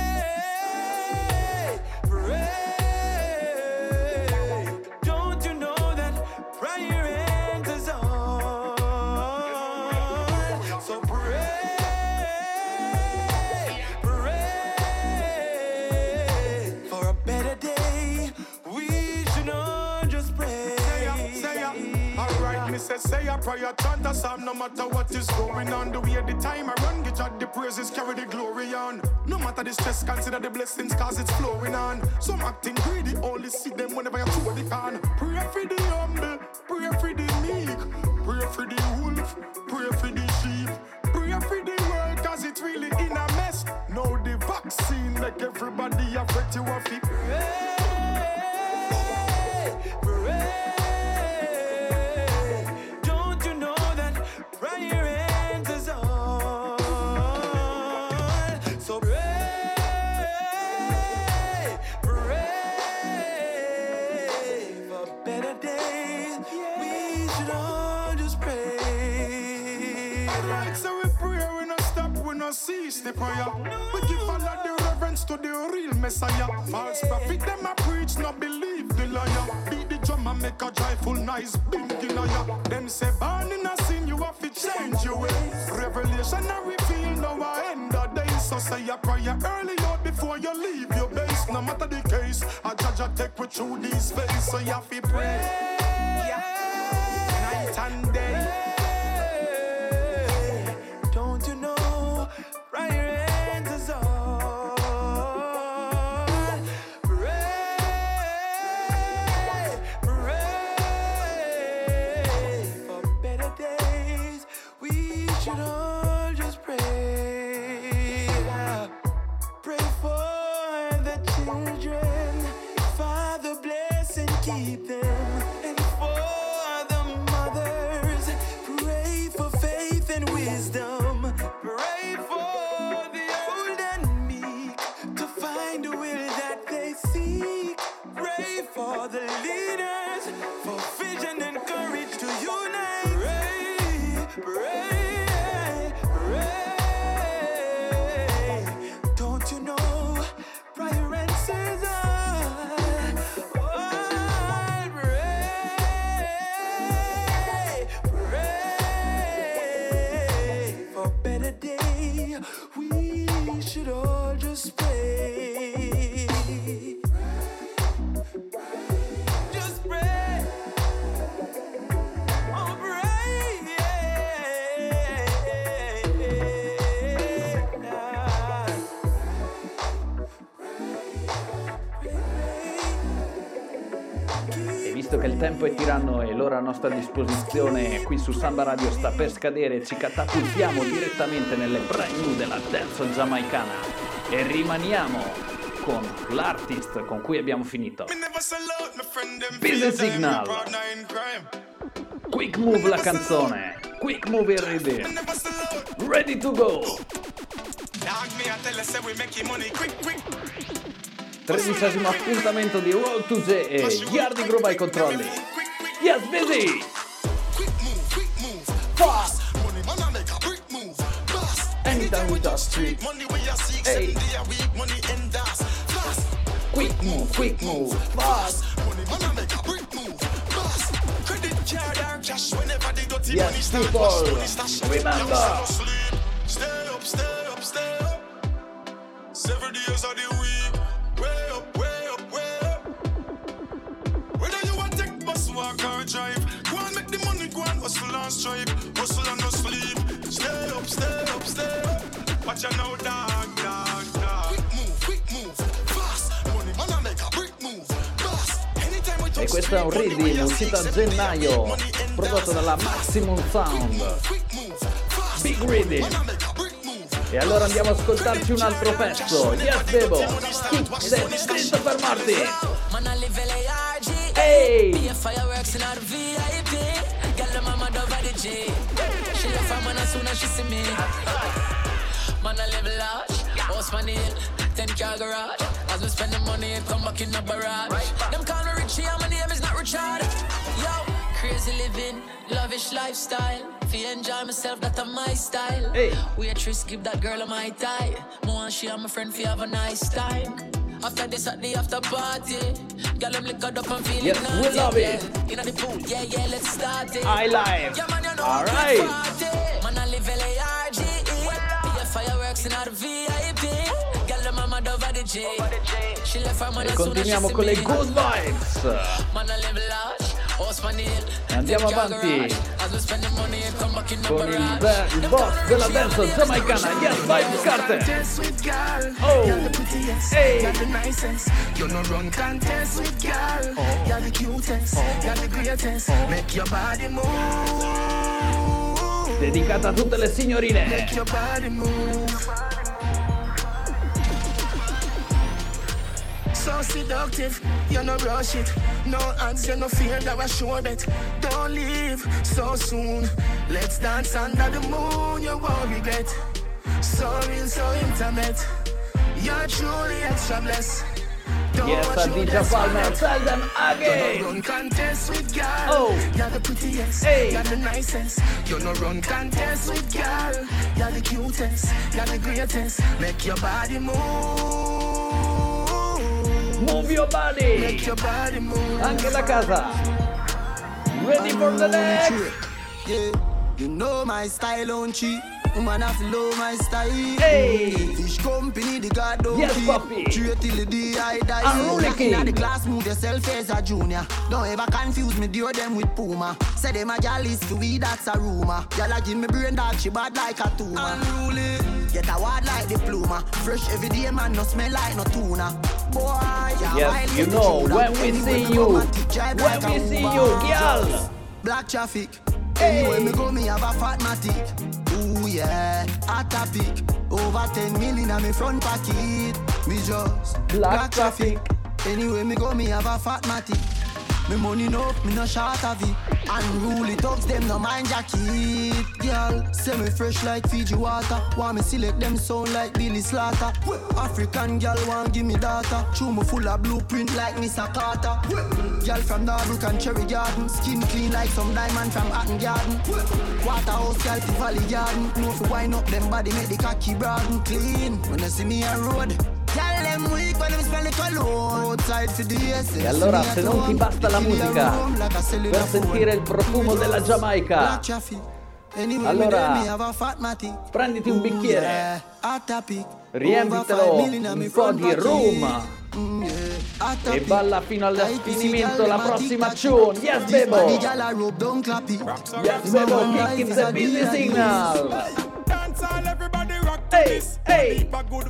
Pray. Don't you know that prayer answers all? So pray, pray. prayer, prayer, chant a psalm. No matter what is going on, the way the time I run, get out the praises, carry the glory on. No matter the stress, consider the blessings, cause it's flowing on. Some acting greedy, only see them whenever you throw the can. Pray for the humble, pray for the meek, pray for the wolf, pray for the sheep, pray for the world, cause it's really in a mess. Now the vaccine make everybody afraid to have it. Pray, pray. Don't you know that prayer answers all? So pray, pray for better days. We should all just pray. Right, so we pray, we no stop, we no cease the prayer. We give all of the reverence to the real Messiah. False prophet, them a preach, no believe the liar. Beat the drum and make a joyful noise, bing the liar. Them say born in a sin, you have to change your ways. Revelation and reveal now I end the day. So say a prayer early out before you leave your base. No matter the case, a judge a take you through these phases. So you have to pray, yeah, night and day. Don't you know, prayer answers all. Pray, pray for better days. We should all just pray. Pray for the children. Father, bless and keep them. And for the mothers, pray for faith and wisdom. Pray for the old and meek to find a will that they seek. Pray for the leaders for vision and courage to unite. Pray, pray, pray. Don't you know prayer answers all? Oh, pray, pray for better day. We should all just pray. Just pray. Oh, pray. E visto che il tempo è tiranno e l'ora a nostra disposizione qui su Samba Radio sta per scadere, ci catapultiamo direttamente nelle brand new della dancehall giamaicana e rimaniamo con l'artist con cui abbiamo finito. Business Signal. Quick Move la canzone, Quick Move il rhythm. Ready to go. Tredicesimo appuntamento di Road to J e Yardi Groove ai controlli. Yes, busy! Fast! Anytime we touch street. Hey! Quick move, quick move, fast! Yes, people! Remember! Stay up, stay up, stay up. Seven days of the week. Way up, way up, way up. Whether you want take bus, walk or drive, go and make the money, go and hustle and strive. Hustle and no sleep. Stay up, stay up, stay up. Watch you now, dog, dog, dog. Quick move, quick move, fast. Money, man, I make a brick move, fast. Anytime we touch. E questo è un rhythm uscito a gennaio, prodotto dalla Maximum Sound. Big rhythm. E allora andiamo ad ascoltarci un altro pezzo. Yes, Bebo. Keep the Christopher Martin. Ehi! Man, I live large, house money in, ten car garage. As we spend the money and come back in the barrage. Them call me Richie and my name is not Richard. Yo, crazy living, lavish lifestyle. If you enjoy myself, that's my style. Hey. Waitress, give that girl a my tie. More and she and my friend, if you have a nice time. After this at the after party, girl, I'm liquored up and feeling Yes, we naughty. love it. In the pool, yeah, yeah, let's start it. I live. Yeah, man, you know All I'm right. party. Man, I live L A R G E. Yeah, fireworks in our V I P. Girl, the mama over the J. She left her man E as soon as she continuiamo see con le me. good vibes. Man, I live large, Andiamo avanti con il, be- il boss della dance giamaicana. Yes, Vybz Kartel. Oh, hey. You no run contest with girl. You're the cutest, you're the greatest. Make your body move. Dedicata a tutte le signorine. Make your body move. So seductive, you no rush it. No odds, you no fear that I sure bet. Don't leave so soon. Let's dance under the moon, you won't regret. So real, so intimate. You're truly extra blessed. Yes, Adidja Palmer, tell them again. You no run contest with girl. Oh, you're the prettiest, hey. You're the nicest. You no run contest with girl. You're the cutest, you're the greatest. Make your body move. Move your body. Make your body move. Anche da casa. Ready for the next. Yeah, you know my style on cheap. Woman have to know my style. Hey. Fish company, the god don't Yes, keep. papi. Straight till the day I die. Unruly King. Inna the class, move yourself as a junior. Don't ever confuse me, deal them with Puma. Say them a gal is to we, that's a rumor. Y'all give me brain dog, she bad like a tumor. Unruly. Get a word like diploma. Fresh every day, man, no smell like no tuna. Boy, yeah, Yes, you know, when we see you, when we see you, girl. Black traffic. Hey. Anyway, me go, me have a fat matic. Ooh, yeah, hot topic. Over ten million on me front pocket. Me just Black traffic. Anyway, me go, me have a fat matic. Me money no, me no short of it. Unruly thugs, them no mind jacket. Girl, say me fresh like Fiji water. Want me select them sound like Billy Slaughter. African girl want give me data. Chew me full of blueprint like Mister Carter. Girl from Norbrook and Cherry Garden. Skin clean like some diamond from Hatton Garden. Waterhouse girl to Valley Garden. No fi wind up them body make the cocky broaden. Clean when you see me a road. Tell them weak when them smell it alone. Outside for the S S. E allora, se non ti basta la musica per sentire il profumo della Giamaica, allora prenditi un bicchiere, riempitelo un po' di rum e balla fino al finimento la prossima tune. Yes, Bebo. Yes, Bebo, kick the busy signal. Hey, hey.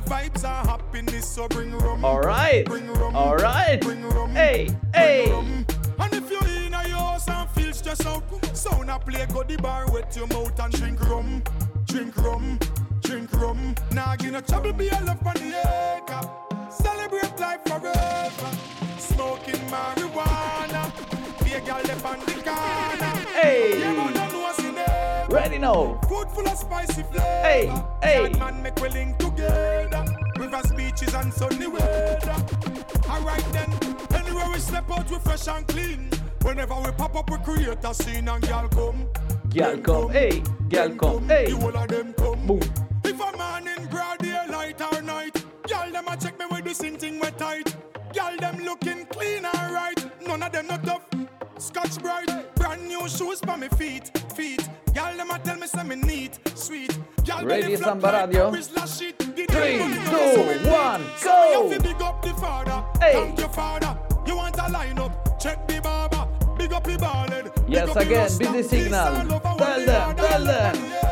Alright, alright. Hey, hey. And if you're in a house and feel stressed out, sound a play, go the bar, wet your mouth and drink rum, drink rum, drink rum. Now give no trouble, be a love on the acre. Celebrate life forever. Smoking marijuana, be a girl left on the corner. Hey. You don't know what's in there. Ready now. Food full of spicy flavor. Hey, hey. That man make we link together. Rivers, beaches and sunny weather. Alright then, anywhere we step out we fresh and clean. Whenever we pop up we create a scene and girl come. Girl come, hey, girl come, hey. You all of them come. Boom. If a man in broad daylight or night, girl them a check me with the same thing we tight. Girl them looking clean and right. None of them not tough. Scotch bright, brand new shoes for me feet, feet. Girl them a tell me say me neat, sweet. Ready, Samba Radio? Three, two, one, go! Big up the father, hey. Thank your father. You want a lineup? Check the barber. Big up the ballad. Yes, again, busy signal. Tell them, tell them.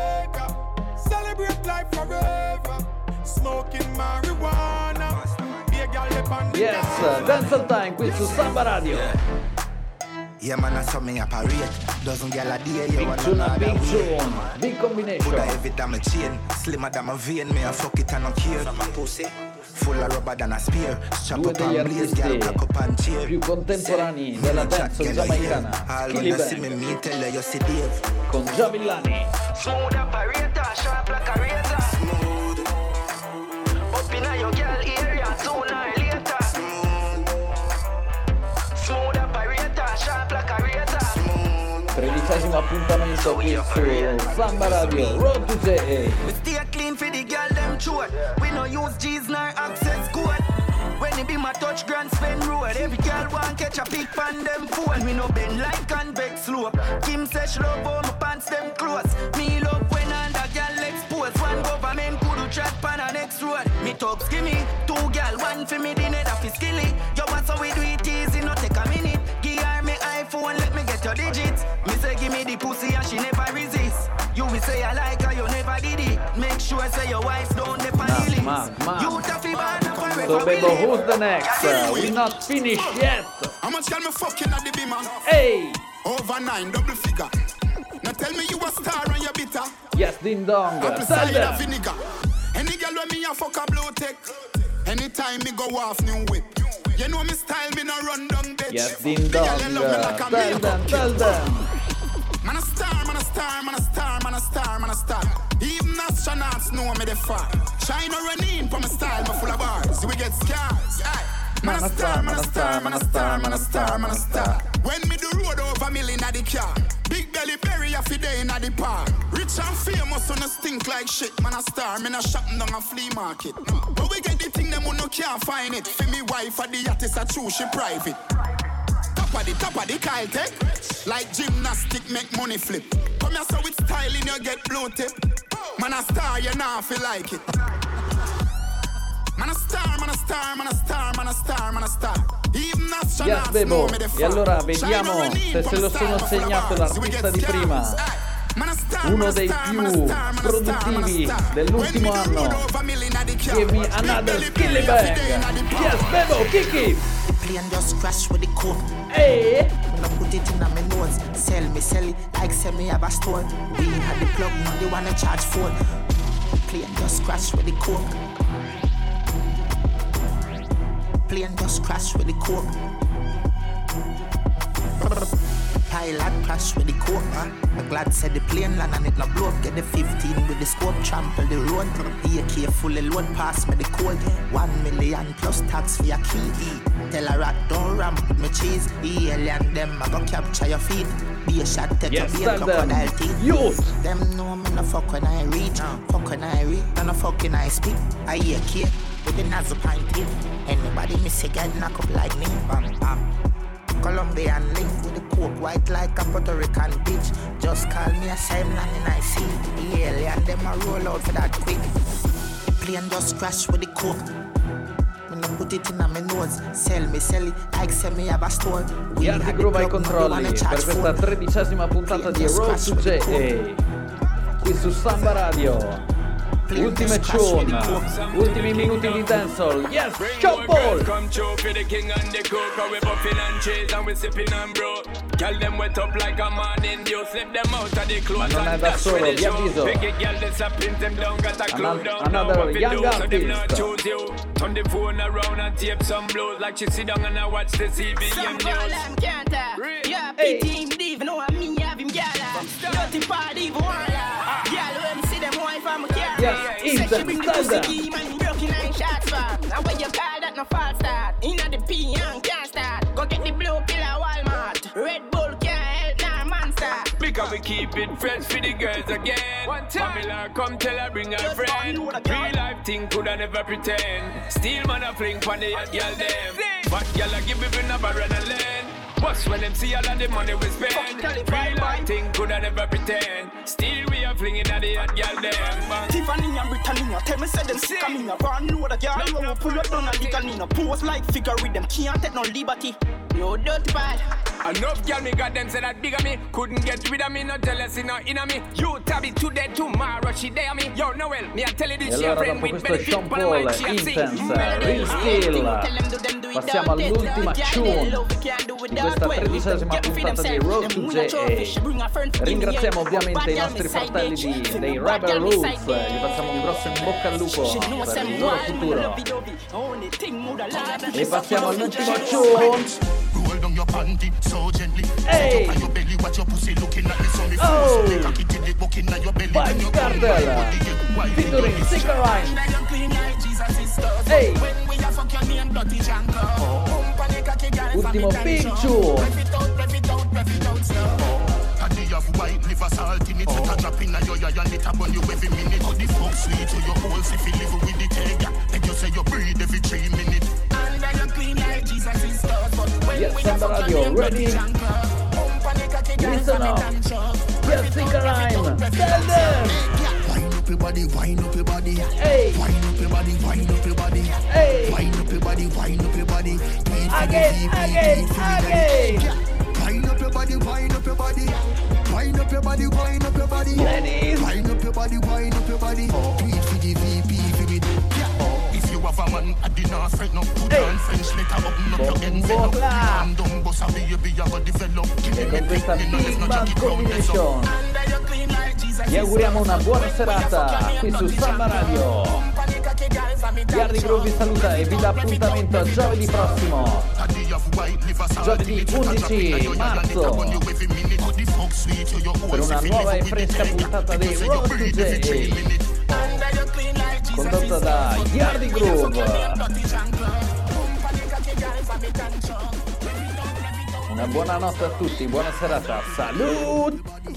Celebrate life forever. Smoking marijuana. Yes, Dancehall Time qui su Samba Radio. Yeah, man, I saw me a parade. Doesn't get a day, you big wanna tune, know big that tune, big combination. Put a heavy damn a chain, slimmer than a vein, me a fuck it and I care. My pussy, full of rubber than a spear. Due degli artisti più contemporanei della dancehall giamaicana, Skilly Bang, con Jah Villani. Smooth operator, sharp like a razor. Smooth. Up in your girl area, sooner or later. Smooth. Smooth operator, sharp like a razor. Tredicesimo appuntamento qui su Samba Radio, Road to J A. We stay clean for the girl them throat. We no use G's nor access code. When it be my touch grand spend road, every girl want catch a pic pan them phone. We no bend like convex slope. Kim says love how my pants them close. Me love when under girl expose. One government could chat pan a next road. Me talk skinny, two girl, one for me the net of skilly. You want so we do it easy, no take a minute. Give her me iPhone, let me get sure say your wife don't depend on the Ma, links. ma, You tough man up and So for Bebo, willing. who's the next? We not finished yet. How much can me fucking at the beamer? Hey! Over nine, double figure. Now tell me you a star and you bitter. Yes, ding dong. Apple Tell cider them. vinegar. Any girl when me a fuck a blow tech. Anytime me go off new whip. You know me style, me no run down bitch. Yes, ding dong. Me girl, you love me like a Tell makeup them, kit. tell them. Man a star, man a star, man a star, man a star, man a star. Even astronauts know me the far. China run in for my style, me full of bars. We get scars. Aye. Man a star, man a star, man a star, man a star, man a star. When me do road over million at the car. Big belly berry a fi day in the park. Rich and famous on a stink like shit. Man a star, me not shopping down a flea market. But we get the thing them who no can't find it. For me wife at the yacht is a true, she private. Top of the top of the Kyle tech. Like gymnastic make money flip. Come here so with styling you get blow tip. Man a star, you nah feel like it. Man a star, man a star, man a star, man a star, man a star. Even Yes, astronauts Bebo. know me the E far. allora vediamo China run in se for se my lo style, sono me full of segnato bars. We l'artista get di prima. scars. Aye. Man a star, Uno man a dei star, più man a star, man a star, produttivi man a star. dell'ultimo When me do anno. road over million at the car. Give me Big another belly skilly berry a fi day in bang. the park. Yes, Bebo, kick it. The plane just crash with the coke. Hey. When I put it in my nose, sell me, sell it like sell me have a store. We had the plug, now they wanna charge phone. The plane just crash with the coke. Plane just crash with the coke. Pilot crash with the coke, huh? I'm glad said the plane land and it no blow up. Get the fifteen with the scope, trample the road. The A K fully load, pass me the code. One million plus tax for your key. Tell a rat don't ramp with me cheese. The alien them I go capture your feet. Be a shot, take Yes, a beer, tell them. crocodile teeth. Youth. Them know me no fuck when I reach. Fuck when I reach, no no fuck when I speak. I hear kid with the nozzle pint teeth. Anybody miss a get knock up like me. Bam bam. Colombian link with the coke white like a Puerto Rican bitch. Just call me a same land and I see the alien them a roll out for that quick. The plane just crash with the coke. When I put it in my nose, sell me, sell it like sell me have a store. We Yardi had the Groove ai plug, now they controlli wanna per charge questa phone. tredicesima puntata di Road to J A qui su Samba Radio. Ultime tune, ultimi minuti di dancehall. Yes, Sean Paul. Come true for the king and the cook. We buffing and cheese and we sipping and bro. Girl them wet up like a morning dew. Slip them out of the clothes. Ma non è and da dash solo, with the vi show. avviso. Pick it, girl, this a pin them down. Got a clue Another- down. another Now what we young do, so them not artist. choose you. Turn the phone around and tape some blues. Like she sit down and I watch the C B Some N ball news. I'm can't yeah, Hey. P T him even know me have him gala. Dirty party even wanna. Girl when me see them wife I'm a car. Yes, Say it's she bring the the pussy standard. key man broken nine shots fam. Now when you call that no false start. Inna the P and can't start. Go get the blue pill at Walmart. Red Bull can't help nah monster. Because we keep it fresh for the girls again. Pamela come tell her bring her friend. Real life thing coulda never pretend. Still man a fling pon the hot girl them. But girl a give it in a barren and land. Bust when them see all of the money we spend. Real life thing coulda never pretend. Still we a flinging at the hot girl them. Tiffany and Britannia, tell me say them sick of me. Born know the girl, you will pull up down a Ligalina. Pose like figure with them, can't take no liberty. You don't bad. Enough girl me got them say that bigger me. Couldn't get rid of me, no jealousy, no inner me. You tabby today, tomorrow she dare me. Yo Noel, me I tell you E this allora your friend dopo with questo benefit. Sean but I'm Paul like she a sing. Intense Real Skill, passiamo all'ultima tune di questa tredicesima puntata di Road to J A. Ringraziamo ovviamente i nostri fratelli di, dei Rebel Roots, gli facciamo un grosso in bocca al lupo per il loro futuro. E passiamo all'ultimo tune. Roll down your panty so gently. Hey. Up on your belly, watch your pussy looking at me so me Oh. so cock it till it walking at your belly. Vibes When you come Cartel, right body, yeah, why you featuring do this? Sika Rhymes. And I don't clean like Jesus sisters. Hey. When we a fuck your name dirty janker. Pump on the cocky girl from Ultimo the big tension. tune. Rev it out, rev it out, rev it out slow. And you have white liver salt in it. Let a drop in a yo yo and it a burn you every minute. How the fuck sweet to your whole if you live with the egg. Make you say you breathe every three minutes. And I don't clean like Jesus sisters. But when Yes, we a Samba fuck Radio, your name ready? dirty janker. Pump on the cocky girl Listen from the up. tension. Yes, Sika Rhymes. Tell them. Wind up your body, wind up your body. Hey. Wind up your body, wind up your body. Hey. Wind up your body, wind up your body. Do it for the Again, V P, do again, it for the again. daddy. Wind up your body, wind up your body. Wind up your body, wind up your body. Dennis. Wind up your body, wind up your body. Do it for the V P, for the yeah. If you have a man, I did not friend up. Put on French, let her open up your envelope. And don't bust a baby, you go develop. E con questa Big Bad Combination vi auguriamo una buona serata qui su Samba Radio. Yardi Groove vi saluta e vi dà appuntamento a giovedì prossimo, giovedì undici marzo, per una nuova e fresca puntata di Road to J, condotta da Yardi Groove. Una buona notte a tutti, buona serata, salut!